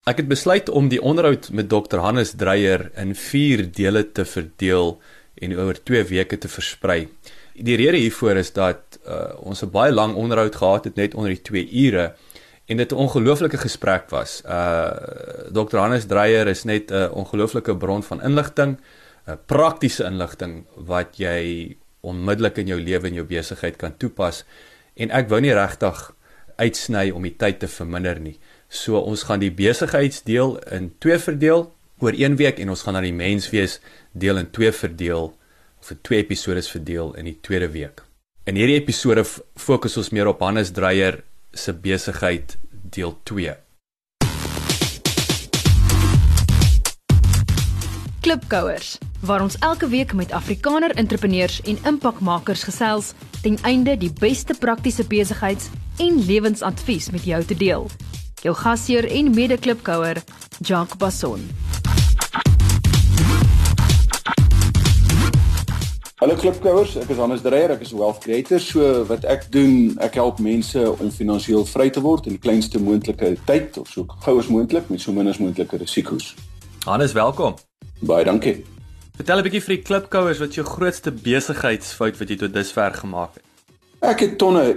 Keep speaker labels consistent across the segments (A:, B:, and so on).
A: Ek het besluit om die onderhoud met Dr. Hannes Dreyer in 4 dele te verdeel en oor 2 weke te versprei. Die rede hiervoor is dat ons 'n baie lang onderhoud gehad het, net onder die 2 ure, en dit 'n ongelooflike gesprek was. Dr. Hannes Dreyer is net 'n ongelooflike bron van inligting, praktiese inligting wat jy onmiddellik in jou lewe en jou besigheid kan toepas, en ek wou nie regtig uitsny om die tyd te verminder nie. So ons gaan die besigheidsdeel in 2 verdeel oor 1 week en ons gaan dan die menswees deel in 2 verdeel, of in 2 episodes verdeel in die tweede week. In hierdie episode fokus ons meer op Hannes Dreyer se besigheid deel 2.
B: Klipkouers, waar ons elke week met Afrikaner entrepreneurs en impakmakers gesels ten einde die beste praktiese besigheids- en lewensadvies met jou te deel. Jou gasheer en mede-klipkouer, Jacques Basson.
C: Hallo klipkouers, ek is Hannes Dreyer, ek is wealth creator. So wat ek doen, ek help mense om finansiëel vry te word in die kleinste moontlike tyd, of so gou as moontlik met so min as moontlike risiko's.
A: Hannes, welkom.
C: Baie dankie.
A: Vertel 'n bietjie vir die klipkouers wat jou grootste besigheidsfout wat jy tot dusver gemaak het.
C: Ek het tonne,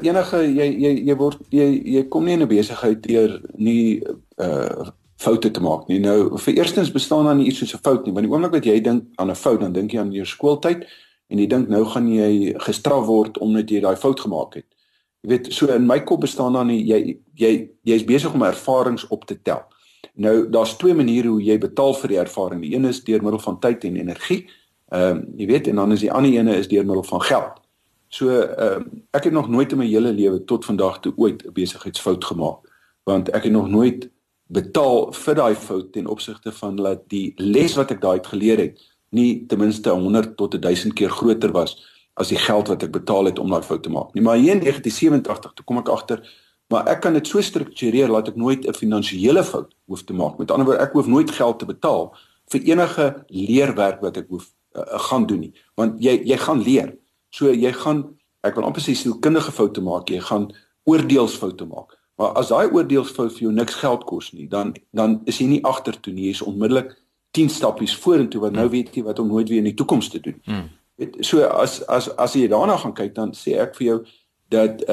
C: jy kom nie in 'n besigheid deur nie foute te maak nie. Nou, vir eerstens bestaan daar nie iets soos 'n fout nie, want die oomblik wat jy dink aan 'n fout, dan dink jy aan jou skooltyd en jy dink nou gaan jy gestraf word omdat jy daai fout gemaak het. Jy weet, so in my kop bestaan daar nie, jy is besig om ervarings op te tel. Nou, daar's 2 maniere hoe jy betaal vir die ervaring. Die een is deur middel van tyd en energie, jy weet, en dan is die ander ene is deur middel van geld. So, ek het nog nooit in my hele lewe tot vandag toe ooit 'n besigheidsfout gemaak, want ek het nog nooit betaal vir daai fout ten opsigte van dat die les wat ek daai uit geleer het, nie ten minste 100 tot 1000 keer groter was as die geld wat ek betaal het om daai fout te maak nie. Maar hier in 1987, toe kom ek agter, maar ek kan dit so struktureer dat ek nooit 'n finansiële fout hoef te maak. Met ander woorde, ek hoef nooit geld te betaal vir enige leerwerk wat ek hoef gaan doen nie, want jy gaan leer. So jy gaan, ek wil amper sê sielkundige foute maak, jy gaan oordeelsfoute maak. Maar as daai oordeelsfout vir jou niks geld kos nie, dan is jy nie agtertoe nie, jy is onmiddellik 10 stappies vorentoe, want nou weet jy wat om nooit weer in die toekoms te doen. So as jy daarna gaan kyk, dan sê ek vir jou dat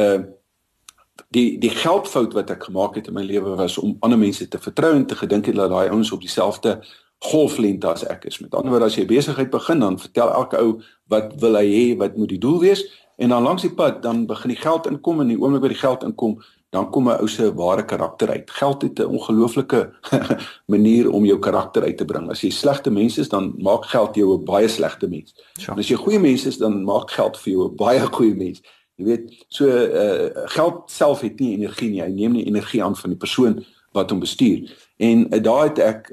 C: die geldfout wat ek gemaak het in my lewe was om ander mense te vertrou en te gedink het dat daai ouens op dieselfde golflengte as ek is. Met ander woorde, as jy besigheid begin, dan vertel elke ou wat wil hy hê, wat moet die doel wees, en dan langs die pad, dan begin die geld inkom, en die oomblik wat die geld inkom, dan kom 'n ou se ware karakter uit. Geld het 'n ongelooflike manier om jou karakter uit te bring. As jy slegte mens is, dan maak geld jou 'n baie slegte mens. En as jy goeie mens is, dan maak geld vir jou 'n baie goeie mens. Jy weet, so geld self het nie energie nie, hy neem nie energie aan van die persoon wat hom bestuur. En daai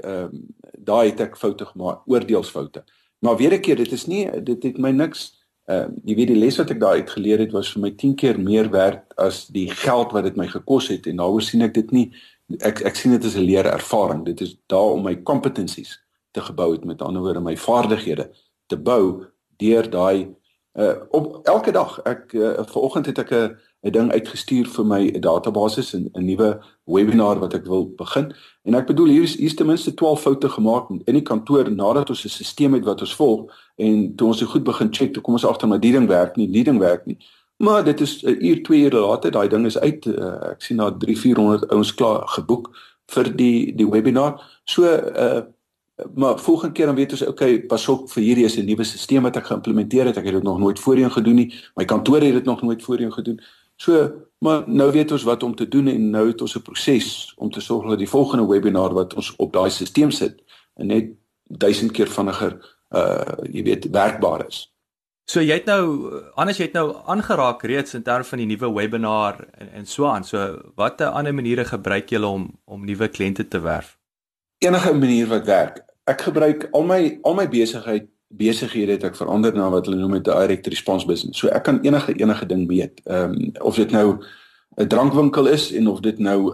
C: het ek foute gemaak, oordeelsfoute. Maar weer 'n keer, dit het my niks, jy weet, die les wat ek daar uit geleer het, was vir my 10 keer meer werd as die geld wat dit my gekos het, en daaroor sien ek dit nie, ek sien dit as 'n leerervaring. Dit is daar om my competencies te gebou het, met ander woorde, my vaardighede te bou, deur daai, op elke dag, vanoggend het ek 'n ding uitgestuur vir my database, 'n nuwe webinar wat ek wil begin, en ek bedoel, hier is ten minste 12 foute gemaak in die kantoor, nadat ons 'n stelsel het wat ons volg, en toe ons dit goed begin check, toe kom ons agter, maar die ding werk nie, maar dit is 1 uur, 2 ure later, daai ding is uit, ek sien daar 300-400 ouens klaar geboek vir die webinar, so, maar volgende keer dan weet ons, okay, pas op, vir hierdie is 'n nuwe stelsel wat ek geïmplementeer het, ek het dit nog nooit voorheen gedoen nie, my kantoor het dit nog nooit voorheen gedoen, so, maar nou weet ons wat om te doen, en nou het ons 'n proses om te sorg dat die volgende webinar wat ons op daai stelsel sit, en net 1000 keer vinniger, jy weet, werkbaar is.
A: So jy het nou aangeraak reeds in terme van die nuwe webinar en so aan. So watter ander maniere gebruik julle om nuwe kliënte te werf?
C: Enige manier wat werk. Ek gebruik al my besighede het ek verander na wat hulle noem 'n direct response business. So ek kan enige ding meet. Of dit nou 'n drankwinkel is, en of dit nou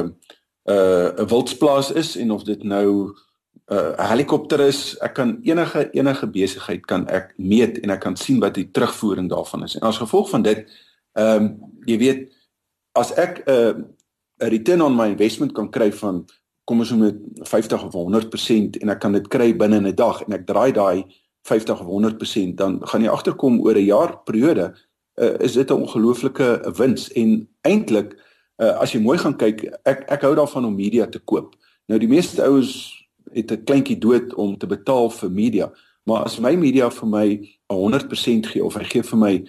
C: 'n wildsplaas is, en of dit nou 'n helikopter is, ek kan enige besigheid kan ek meet, en ek kan sien wat die terugvoering daarvan is. En as gevolg van dit, jy weet, as ek 'n return on my investment kan kry van kom ons noem dit 50 of 100% en ek kan dit kry binne 'n dag en ek draai daai 50 of 100%, dan gaan jy agterkom oor 'n jaar periode is dit 'n ongelooflike wins. En eintlik as jy mooi gaan kyk, ek hou daarvan om media te koop. Nou die meeste ouens het 'n kleintjie dood om te betaal vir media, maar as my media vir my 100% gee of hy gee vir my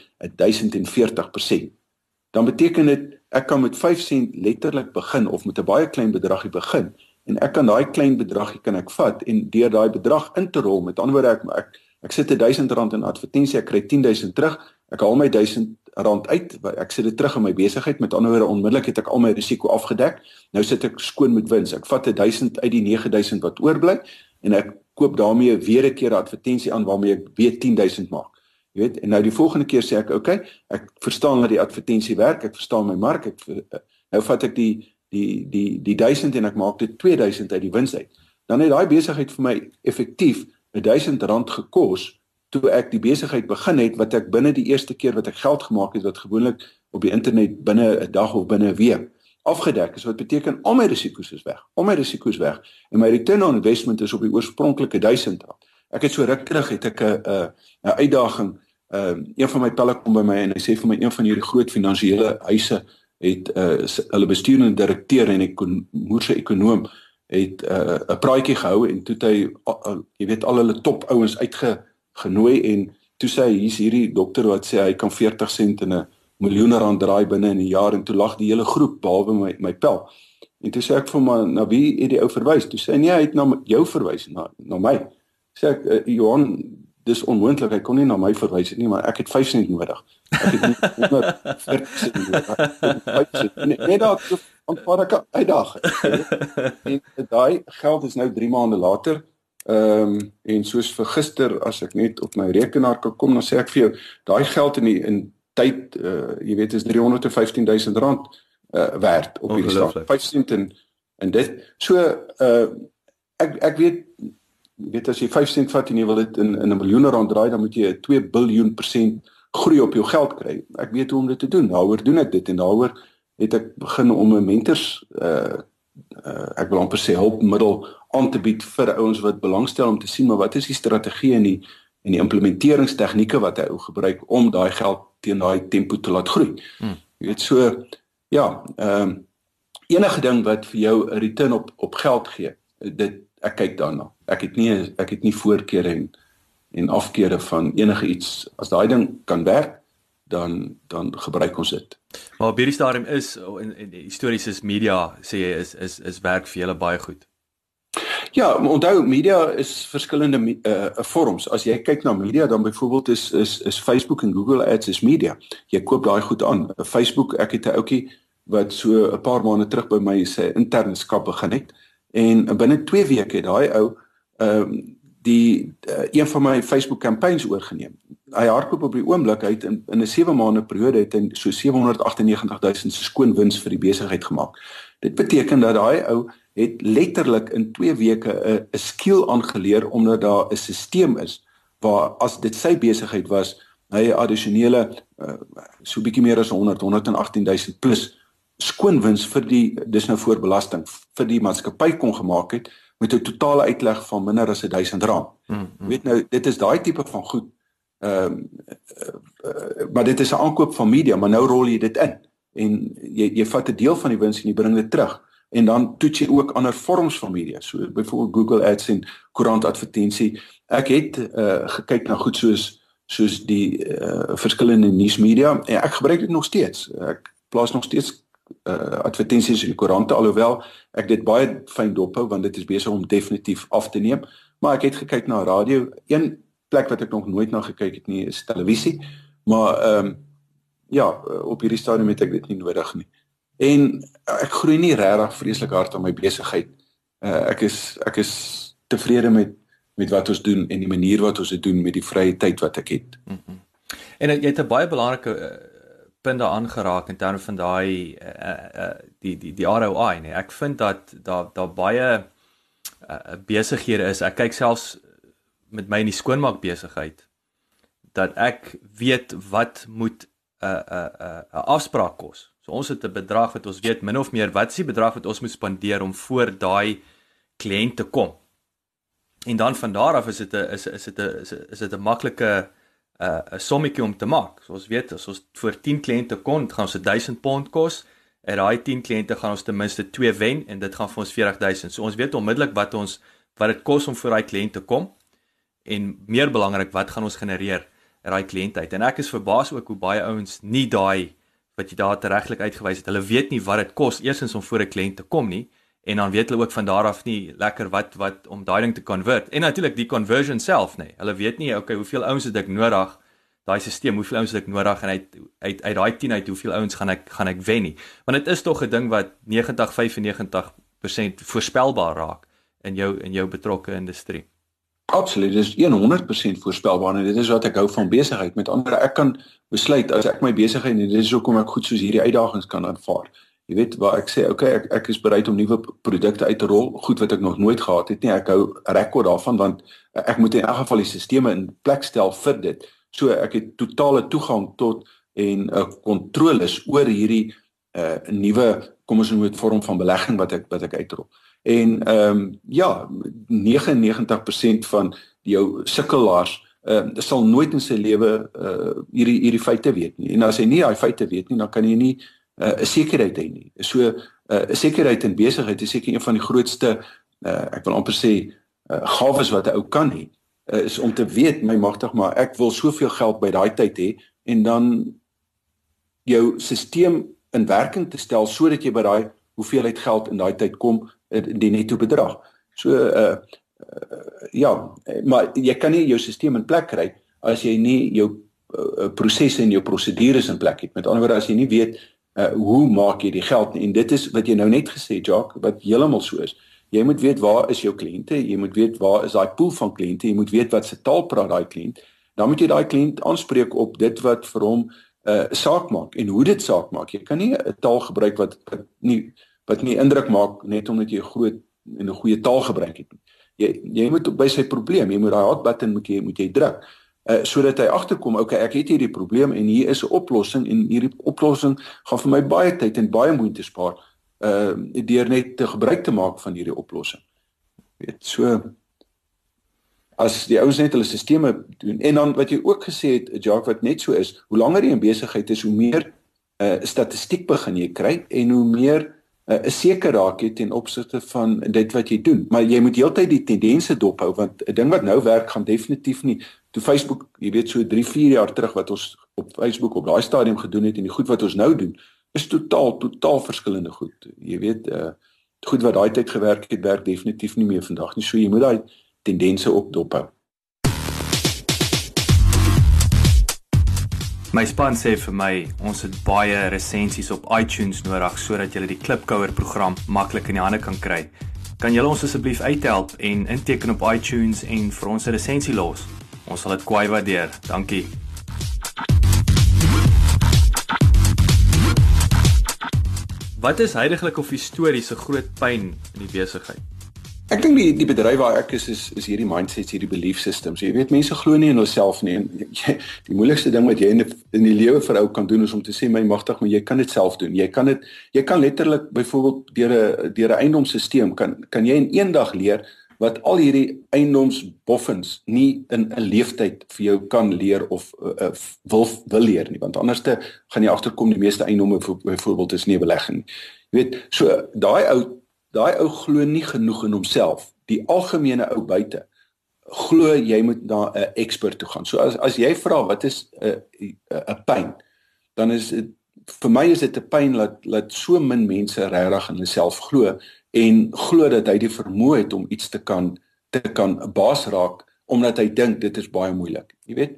C: 1040%, dan beteken dit ek kan met 5 sent letterlik begin of met 'n baie klein bedragie begin en ek kan daai klein bedragie kan ek vat en deur daai bedrag in te rol, met ander woorde ek sit R1000 in advertensie, ek kry 10,000 terug, ek haal my R1000 uit, ek sit dit terug in my besigheid, met ander woorde onmiddellik het ek al my risiko afgedek. Nou sit ek skoon met wins. Ek vat 1000 uit die 9000 wat oorbly en ek koop daarmee weer 'n keer 'n advertensie aan waarmee ek weer 10,000 maak. Jy weet, en nou die volgende keer sê ek, okay, ek verstaan dat die advertensie werk, ek verstaan my mark, nou vat ek die 1000 en ek maak dit 2000 uit die wins uit. Dan het daai besigheid vir my effektief R1000 gekos toe ek die besigheid begin het, wat ek binne die eerste keer wat ek geld gemaak het, wat gewoonlik op die internet binne 'n dag of binne 'n week afgedek is, wat beteken al my risiko's is weg, en my return on investment is op die oorspronklike R1000. Ek het so ruk terug, het ek 'n uitdaging, een van my pelle kom by my en hy sê vir my, een van hierdie groot finansiële huise het hulle bestuurende direkteur en 'n moerse ekonoom het 'n praatjie gehou en toe het hy, jy weet, al hulle top ouens uitgenooi en toe sê hy, hier's hierdie dokter wat sê hy kan 40 sent in 'n R1 miljoen draai binne in 'n jaar, en toe lag die hele groep behalwe my pel. En toe sê ek vir hom, na wie het die ou verwys? Toe sê hy, nee, hy het na jou verwys, na my. Sê ek, Johan, dis onmoontlik, hy kon nie na my verwys nie, maar ek het 5 sent nodig. Ek het nie 140 sent nodig. Nee, daar aanvaar ek 'n uitdaging. En daai geld is nou 3 maande later, en soos vir gister, as ek net op my rekenaar kan kom, dan sê ek vir jou, daai geld in tyd, jy weet, is R315,000 werd op hierdie stad. 5 sent en dit. So, ek weet as jy 5 sent vat en jy wil dit in R1 miljoen draai, dan moet jy 2 biljoen% groei op jou geld kry. Ek weet hoe om dit te doen. Daaroor doen ek dit en daaroor het ek begin om 'n mentors, ek wil amper sê hulpmiddel aan te bied vir ouens wat belangstel om te sien, maar wat is die strategie en die implementeringstegnieke wat hy gebruik om daai geld teen daai tempo te laat groei. Jy weet, so, ja, enige ding wat vir jou 'n return op geld gee, ek kyk daarna. Ek het nie voorkeure en afkeure van enige iets. As daai ding kan werk, dan gebruik ons dit.
A: Maar op hierdie stadium is, en histories is media, sê jy, is werk vir julle baie goed.
C: Ja, maar onthou, media is verskillende vorms. As jy kyk na media, dan byvoorbeeld is Facebook en Google Ads is media. Jy koop daai goed aan. Facebook, ek het 'n ouetjie wat so 'n paar maande terug by my sy interne skap begin het, en binne 2 weke het daai ou een van my Facebook campaigns oorgeneem. Hy hardloop op die oomblik, hy het in 'n 7 maande periode het hy so 798,000 skoon wins vir die besigheid gemaak. Dit beteken dat daai ou het letterlik in 2 weke 'n skill aangeleer, omdat daar 'n stelsel is waar as dit sy besigheid was, hy addisionele so bietjie meer as 118,000 plus skoon wins dis nou voor belasting, vir die maatskappy kon gemaak het met 'n totale uitleg van minder as R1,000. Weet nou, dit is daai tipe van goed. Maar dit is 'n aankoop van media, maar nou rol jy dit in en jy vat 'n deel van die wins en jy bring dit terug. En dan toets jy ook ander vorms van media, so byvoorbeeld Google Ads en koerantadvertensie. Ek het gekyk na goed soos die verskillende nuusmedia en ek gebruik dit nog steeds. Ek plaas nog steeds advertensies in die koerante, alhoewel ek dit baie fyn dophou, want dit is besig om definitief af te neem. Maar ek het gekyk na radio. Een plek wat ek nog nooit na gekyk het nie, is televisie. Maar ja, op hierdie stadium het ek dit nie nodig nie. En ek groei nie regtig vreeslik hard aan my besigheid. Ek is tevrede met wat ons doen en die manier wat ons dit doen met die vrye tyd wat ek het.
A: En jy het 'n baie belangrike punt daar aangeraak in terme van die ROI, nee. Ek vind dat daar baie besighede is. Ek kyk selfs met my in die skoonmaak besigheid dat ek weet wat moet 'n afspraak kos. So ons het 'n bedrag wat ons weet min of meer wat is die bedrag wat ons moet spandeer om voor daai kliënt te kom. En dan van daar af is dit 'n maklike 'n sommetjie om te maak. So ons weet as ons vir 10 kliënte kon, gaan ons £1,000 kos. En daai 10 kliënte gaan ons ten minste 2 wen en dit gaan vir ons 40,000. So ons weet onmiddellik wat dit kos om vir daai kliënt te kom en meer belangrik wat gaan ons genereer uit daai kliënt uit. En ek is verbaas ook hoe baie ouens nie daai wat jy daar regtig uitgewys het. Hulle weet nie wat dit kos eersins om voor 'n kliënt te kom nie en dan weet hulle ook van daar af nie lekker wat om daai ding te convert. En natuurlik die conversion self nê. Hulle weet nie okay, hoeveel ouens het ek nodig? Daai stelsel, hoeveel ouens het ek nodig en uit daai 10 uit hoeveel ouens gaan ek wen nie. Want dit is tog 'n ding wat 95% voorspelbaar raak in jou betrokke industrie.
C: Absoluut, dit is 100% voorspelbaar en dit is wat ek hou van besigheid. Met ander woorde, ek kan besluit as ek my besigheid en dit is hoekom ek goed soos hierdie uitdagings kan aanvaar. Jy weet waar ek sê, okay, ek is bereid om nuwe produkte uit te rol, goed wat ek nog nooit gehad het nie. Ek hou 'n rekord daarvan want ek moet in elk geval die stelsels in plek stel vir dit. So ek het totale toegang tot en kontroles oor hierdie nuwe, kom ons noem dit vorm van belegging wat ek uitrol. En ja, 99% van jou sukkelaars sal nooit in sy lewe hierdie feite weet nie. En as hy nie daai feite weet nie, dan kan jy nie 'n sekerheid hê nie. So 'n sekerheid in besigheid is seker een van die grootste ek wil amper sê gawes wat 'n ou kan hê. Is om te weet, my magtig, maar ek wil soveel geld by daai tyd hê en dan jou stelsel in werking te stel sodat jy by daai hoeveelheid geld in daai tyd kom, die netto bedrag. So ja, maar jy kan nie jou stelsel in plek kry as jy nie jou prosesse en jou prosedures in plek het. Met ander woorde, as jy nie weet hoe maak jy die geld nie, en dit is wat jy nou net gesê, Jacques, wat heeltemal so is. Jy moet weet waar is jou kliënte, jy moet weet waar is daai pool van kliënte, jy moet weet wat se taal praat daai kliënt. Dan moet jy daai kliënt aanspreek op dit wat vir hom saak maak en hoe dit saak maak. Jy kan nie 'n taal gebruik wat nie indruk maak net omdat jy 'n goeie taal gebruik het. Jy moet by sy probleem, jy moet daai hot button moet jy druk. Sodat hy agterkom, okay, ek het hierdie probleem en hier is 'n oplossing en hierdie oplossing gaan vir my baie tyd en baie moeite spaar. Deur net te gebruik te maak van hierdie oplossing. Weet, so as die ouens net hulle stelsels doen en dan wat jy ook gesê het, Jacques, wat net so is, hoe langer jy in besigheid is, hoe meer statistiek begin jy kry en hoe meer 'n seker raak jy ten opsigte van dit wat jy doen. Maar jy moet heeltyd die tendense dophou want 'n ding wat nou werk gaan definitief nie. Toe Facebook, jy weet so 3-4 jaar terug wat ons op Facebook op daai stadium gedoen het en die goed wat ons nou doen is totaal verskillende goed. Jy weet, goed wat daai tyd gewerk het, werk definitief nie meer vandag nie. So jy moet daai tendense ook dophou.
A: My span sê vir my, ons het baie resensies op iTunes nodig sodat jy die Klipkouer program maklik in die hande kan kry. Kan julle ons asseblief uithelp en inteken op iTunes en vir ons 'n resensie los? Ons sal dit kwai waardeer. Dankie. Wat is heidaglik of histories 'n groot pyn in die besigheid?
C: Ek dink die bedryf waar ek is hierdie mindsets, hierdie belief systems. Jy weet, mense glo nie in hulself nie. En die moeilikste ding wat jy in die lewe vir ou kan doen is om te sê, my magtig, maar jy kan dit self doen. Jy kan letterlik byvoorbeeld deur 'n eiendomsstelsel kan jy in een dag leer wat al hierdie eiendomsboffins nie in 'n leeftyd vir jou kan leer of wil leer nie, want anders gaan jy agterkom die meeste eiendomme byvoorbeeld is nie belegging. Jy weet, so daai ou glo nie genoeg in homself. Die algemene ou buite glo jy moet na 'n expert toe gaan. So as jy vra wat is 'n pyn, dan is dit vir my is dit 'n pyn dat so min mense regtig in hulle self glo en glo dat hy die vermoë het om iets te kan baas raak omdat hy dink dit is baie moeilik. Jy weet,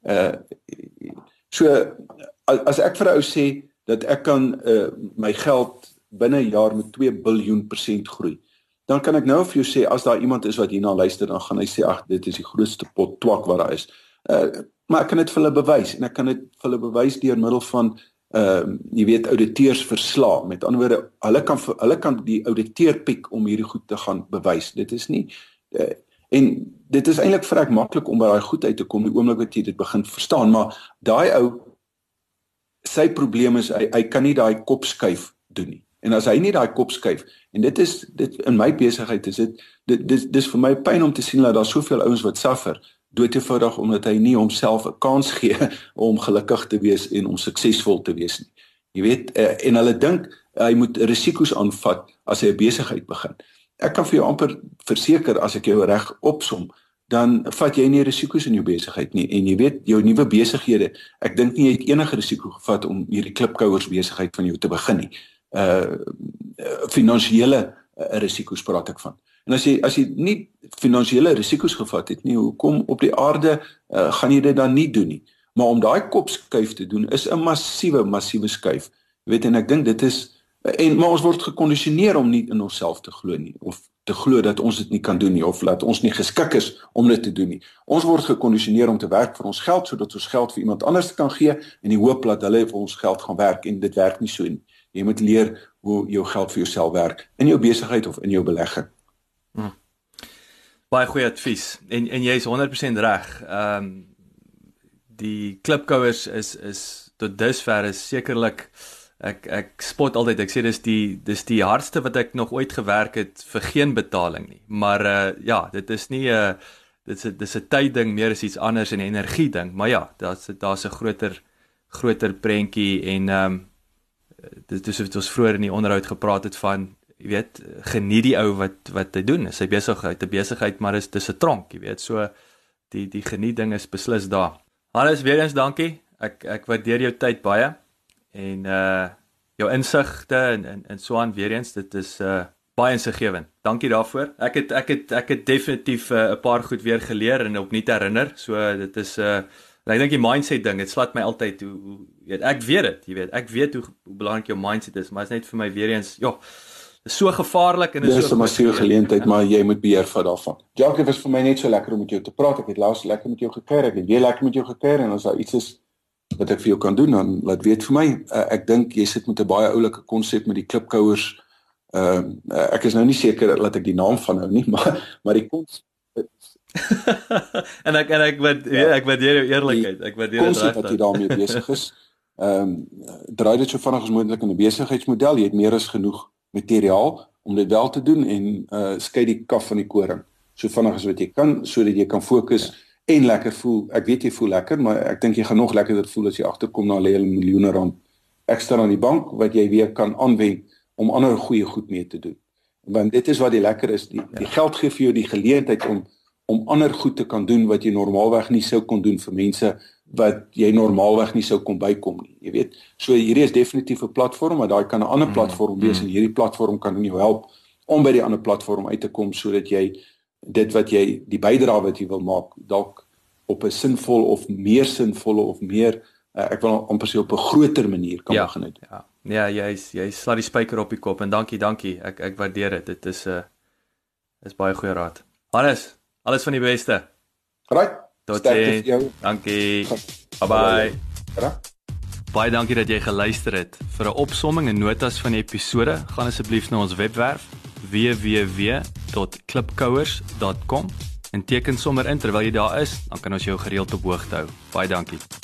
C: so as ek vir 'n ou sê dat ek kan my geld binne 'n jaar met 2 biljoen% groei, dan kan ek nou vir jou sê, as daar iemand is wat hierna luister, dan gaan hy sê, ag, dit is die grootste pot twak wat daar is. Maar ek kan dit vir hulle bewys, en ek kan dit vir hulle bewys deur middel van, jy weet, auditeursverslae. Met ander woorde, hulle kan die auditeur piek om hierdie goed te gaan bewys. Dit is nie, en dit is eintlik vrek maklik om by daai goed uit te kom, die oomblik wat jy dit begin verstaan, maar daai ou sy probleem is hy kan nie daai kop skuif doen nie. En as hy nie daai kop skuif, en dit in my besigheid is dis vir my pyn om te sien dat daar soveel ouens wat suffer, doodeenvoudig omdat hy nie homself 'n kans gee om gelukkig te wees en om suksesvol te wees nie. Jy weet, en hulle dink hy moet risiko's aanvat as hy 'n besigheid begin. Ek kan vir jou amper verseker, as ek jou reg opsom, dan vat jy nie risiko's in jou besigheid nie. En jy weet, jou nuwe besighede, ek dink nie jy het enige risiko gevat om hierdie klipkouers besigheid van jou te begin nie. Finansiële risiko's praat ek van. En as jy nie finansiële risiko's gevat het nie, hoekom op die aarde gaan jy dit dan nie doen nie? Maar om daai kopskuif te doen is 'n massiewe skuif. Jy weet, en ek dink dit is maar ons word gekondisioneer om nie in onsself te glo nie, of te glo dat ons dit nie kan doen nie, of dat ons nie geskik is om dit te doen nie. Ons word gekondisioneer om te werk vir ons geld, sodat ons geld vir iemand anders kan gee, en die hoop dat hulle vir ons geld gaan werk, en dit werk nie so nie. Jy moet leer hoe jou geld vir jouself werk, in jou besigheid of in jou belegging.
A: Baie goeie advies, en jy is 100% reg. Die klipkouers is tot dusver is sekerlik, ek spot altyd, ek sê dis die hardste wat ek nog ooit gewerk het vir geen betaling nie, maar ja, dit is nie dit is 'n tydding meer as iets anders, en 'n energie ding, maar ja, daar's 'n groter prentjie, en dit is wat ons vroeër in die onderhoud gepraat het van, jy weet, geniet die ou wat hy doen, sy besigheid, maar dis 'n tronk, jy weet, so die geniet ding is beslis daar. Hannes, weer eens dankie, ek waardeer jou tyd baie, en jou insigte en so aan, weer eens, dit is baie insiggewend. Dankie daarvoor. Ek het definitief 'n paar goed weer geleer en opnuut herinner, so dit is ek dink die mindset ding, dit slaat my altyd hoe weet, ek weet dit, jy weet, ek weet hoe belangrik jou mindset is, maar is net vir my weer eens, ja, is so gevaarlik, en
C: is so 'n massiewe geleentheid, maar jy moet beheer vat daarvan. Jacques, was vir my net so lekker om met jou te praat. Ek het laas lekker met jou gekuier, ek het weer lekker met jou gekuier, en as daar iets is wat ek vir jou kan doen, dan laat weet vir my. Ek dink jy sit met 'n baie oulike konsep met die klipkouers. Ek is nou nie seker dat ek die naam van hou nie, maar die konsep
A: en ek waardeer jou eerlikheid. Ek waardeer dit
C: regtig. Wat jy daarmee besig is. Draai dit so vinnig as moontlik in 'n besigheidsmodel. Jy het meer as genoeg materiaal om dit wel te doen, en skei die kaf van die koring so vinnig as wat jy kan, sodat jy kan fokus en lekker voel. Ek weet jy voel lekker, maar ek dink jy gaan nog lekkerder voel as jy agterkom na lê jy miljoene rand ekstra aan die bank wat jy weer kan aanwend om ander goeie goed mee te doen. Want dit is wat die lekker is, die geld gee vir jou die geleentheid om ander goed te kan doen wat jy normaalweg nie sou kon doen vir mense wat jy normaalweg nie sou kon bykom nie. Jy weet, so hierdie is definitief 'n platform, maar daai kan 'n ander platform wees, en hierdie platform kan jou help om by die ander platform uit te kom, sodat jy dit wat jy, die bydrae wat jy wil maak, dalk op 'n sinvol of meer sinvolle of meer, ek wil amper sê op 'n groter manier kan begin doen.
A: Ja, jy slaat die spyker op die kop, en dankie, ek waardeer dit. Dit is baie goeie raad. Hannes, alles van die beste.
C: Right.
A: Tot sien. Dankie. Bye. Baie dankie dat jy geluister het. Vir 'n opsomming en notas van die episode, gaan asseblief na ons webwerf www.klipkouers.com en teken sommer in terwyl jy daar is, dan kan ons jou gereeld op hoogte hou. Baie dankie.